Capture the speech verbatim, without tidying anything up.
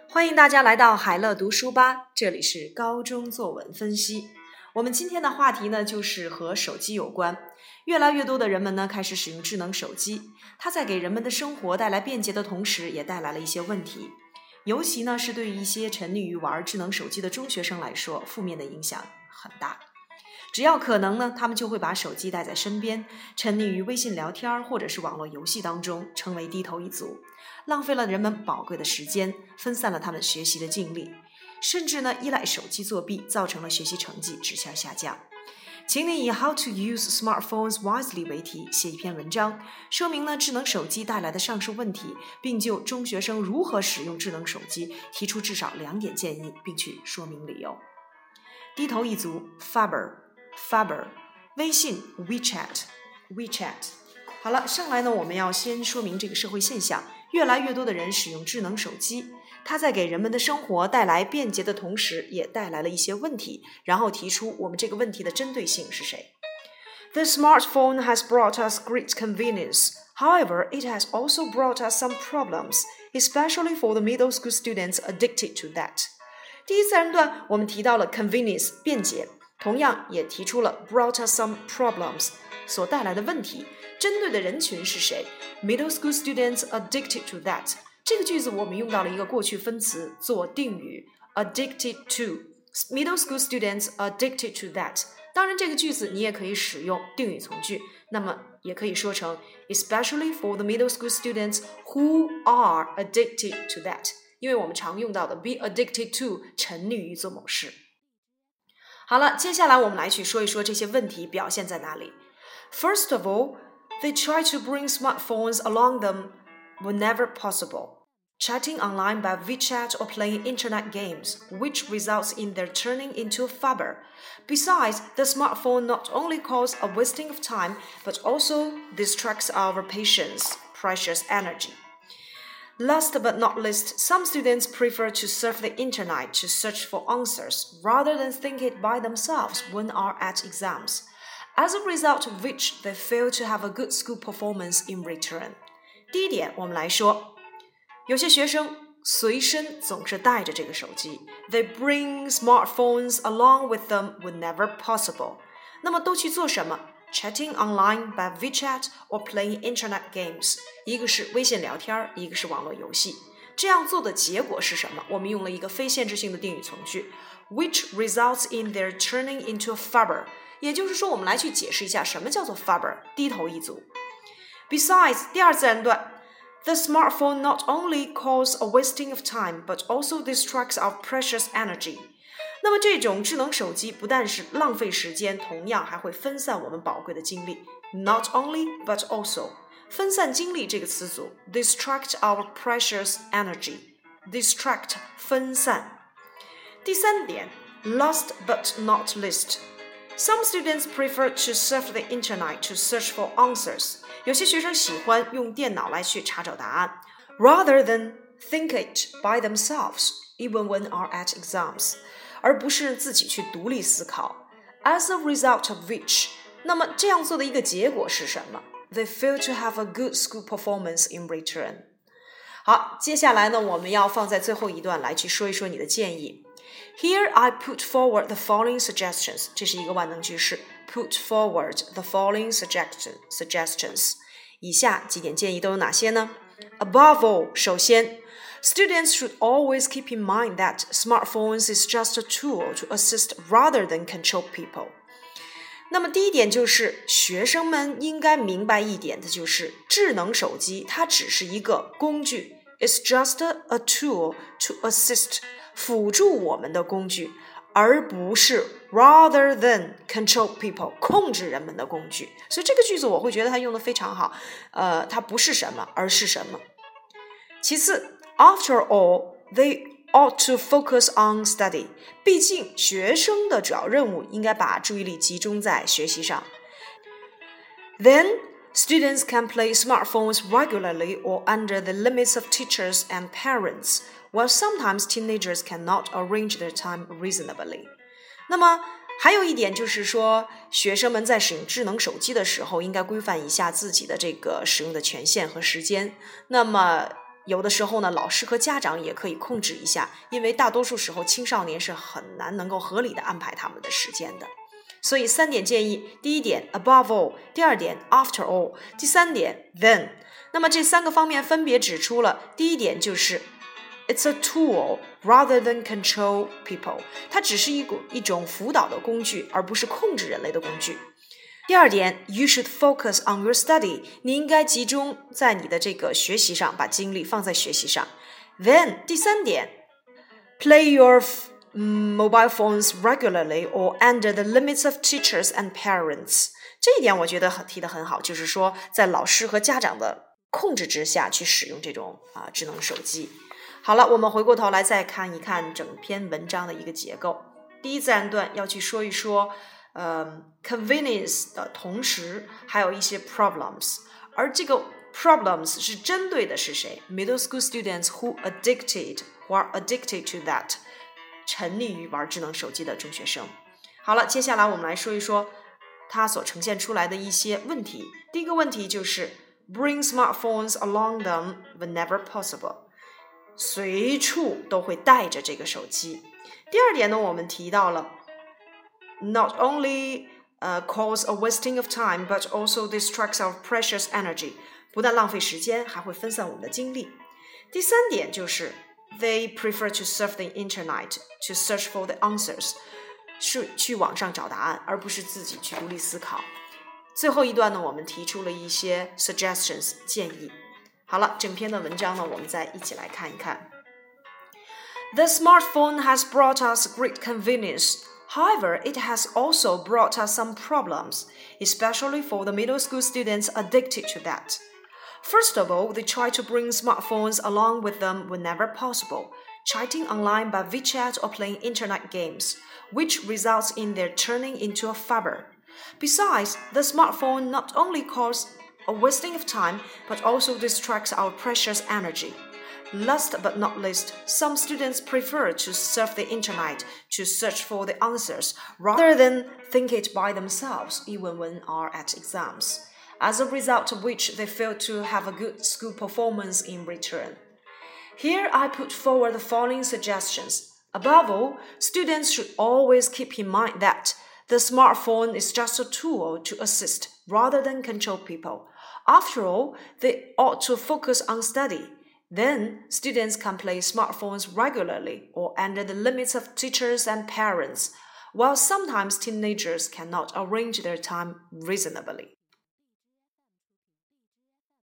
欢迎大家来到海乐读书吧，这里是高中作文分析。我们今天的话题呢，就是和手机有关。越来越多的人们呢，开始使用智能手机，它在给人们的生活带来便捷的同时，也带来了一些问题。尤其呢，是对于一些沉溺于玩智能手机的中学生来说，负面的影响很大。只要可能呢，他们就会把手机带在身边，沉溺于微信聊天或者是网络游戏当中，成为低头一族，浪费了人们宝贵的时间，分散了他们学习的精力，甚至呢依赖手机作弊，造成了学习成绩直线下降。请你以 How to use smartphones wisely 为题写一篇文章，说明呢智能手机带来的上述问题，并就中学生如何使用智能手机提出至少两点建议，并去说明理由。低头一族 Faber Faber 微信 WeChat WeChat 好了，上来呢我们要先说明这个社会现象，越来越多的人使用智能手机，它在给人们的生活带来便捷的同时，也带来了一些问题，然后提出我们这个问题的针对性是谁。 The smartphone has brought us great convenience. However, it has also brought us some problems, especially for the middle school students addicted to that. 第一自然段我们提到了 convenience 便捷，同样也提出了 brought us some problems 所带来的问题，针对的人群是谁？ Middle school students addicted to that。 这个句子我们用到了一个过去分词做定语 addicted to， Middle school students addicted to that。 当然这个句子你也可以使用定语从句，那么也可以说成 especially for the middle school students who are addicted to that， 因为我们常用到的 be addicted to 沉溺于做某事。好了，接下来我们来去说一说这些问题表现在哪里。 First of all, they try to bring smartphones along them whenever possible, chatting online by WeChat or playing internet games, which results in their turning into a Faber. Besides, the smartphone not only causes a wasting of time, but also distracts our patients' precious energy. Last but not least, some students prefer to surf the internet to search for answers, rather than think it by themselves when are at exams, as a result of which they fail to have a good school performance in return. 第一点，我们来说，有些学生随身总是带着这个手机 They bring smartphones along with them whenever possible. 那么都去做什么？Chatting online by WeChat or playing internet games， 一个是微信聊天，一个是网络游戏。这样做的结果是什么？我们用了一个非限制性的定语从句 which results in their turning into a Faber， 也就是说我们来去解释一下什么叫做 Faber， 低头一族。 Besides， 第二自然段 The smartphone not only causes a wasting of time, but also distracts our precious energy。那么这种智能手机不但是浪费时间，同样还会分散我们宝贵的精力。 Not only, but also 分散精力这个词组 distract our precious energy， distract 分散。第三点 Last but not least, some students prefer to surf the internet to search for answers。 有些学生喜欢用电脑来去查找答案 rather than think it by themselves, even when are at exams，而不是自己去独立思考 As a result of which， 那么这样做的一个结果是什么？ They fail to have a good school performance in return。 好，接下来呢我们要放在最后一段来去说一说你的建议。 Here I put forward the following suggestions， 这是一个万能句式 Put forward the following suggestion, suggestions， 以下几点建议都有哪些呢？ Above all， 首先Students should always keep in mind that smartphones is just a tool to assist rather than control people。 那么第一点就是学生们应该明白一点的就是智能手机它只是一个工具 It's just a tool to assist 辅助我们的工具，而不是 rather than control people 控制人们的工具。所以这个句子我会觉得它用得非常好，呃，它不是什么而是什么。其次After all, they ought to focus on study. 毕竟学生的主要任务应该把注意力集中在学习上。Then, students can play smartphones regularly or under the limits of teachers and parents, while sometimes teenagers cannot arrange their time reasonably. 那么还有一点就是说，学生们在使用智能手机的时候，应该规范一下自己的这个使用的权限和时间。那么有的时候呢，老师和家长也可以控制一下，因为大多数时候青少年是很难能够合理的安排他们的时间的。所以三点建议，第一点 above all， 第二点 after all， 第三点 then。那么这三个方面分别指出了，第一点就是 it's a tool rather than control people， 它只是一股一种辅导的工具，而不是控制人类的工具。第二点 you should focus on your study， 你应该集中在你的这个学习上，把精力放在学习上。Then 第三点 play your mobile phones regularly or under the limits of teachers and parents。 这一点我觉得提得很好，就是说在老师和家长的控制之下去使用这种啊智能手机。好了，我们回过头来再看一看整篇文章的一个结构。第一自然段要去说一说呃 convenience 的同时还有一些 problems， 而这个 problems 是针对的是谁？ Middle school students who addicted who are addicted to that， 沉溺于玩智能手机的中学生。好了，接下来我们来说一说它所呈现出来的一些问题。第一个问题就是 bring smartphones along them whenever possible， 随处都会带着这个手机。第二点呢，我们提到了Not only、uh, cause a wasting of time, but also distracts our precious energy. 不但浪费时间，还会分散我们的精力。第三点就是 They prefer to surf the internet to search for the answers. 是去网上找答案，而不是自己去独立思考。最后一段呢，我们提出了一些 suggestions 建议。好了，整篇的文章呢，我们再一起来看一看。The smartphone has brought us great convenience.However, it has also brought us some problems, especially for the middle school students addicted to that. First of all, they try to bring smartphones along with them whenever possible, chatting online by WeChat or playing internet games, which results in their turning into a fable. Besides, the smartphone not only causes a wasting of time, but also distracts our precious energy.Last but not least, some students prefer to surf the internet to search for the answers rather than think it by themselves, even when are at exams, as a result of which they fail to have a good school performance in return. Here I put forward the following suggestions. Above all, students should always keep in mind that the smartphone is just a tool to assist rather than control people. After all, they ought to focus on study.Then, students can play smartphones regularly or under the limits of teachers and parents, while sometimes teenagers cannot arrange their time reasonably.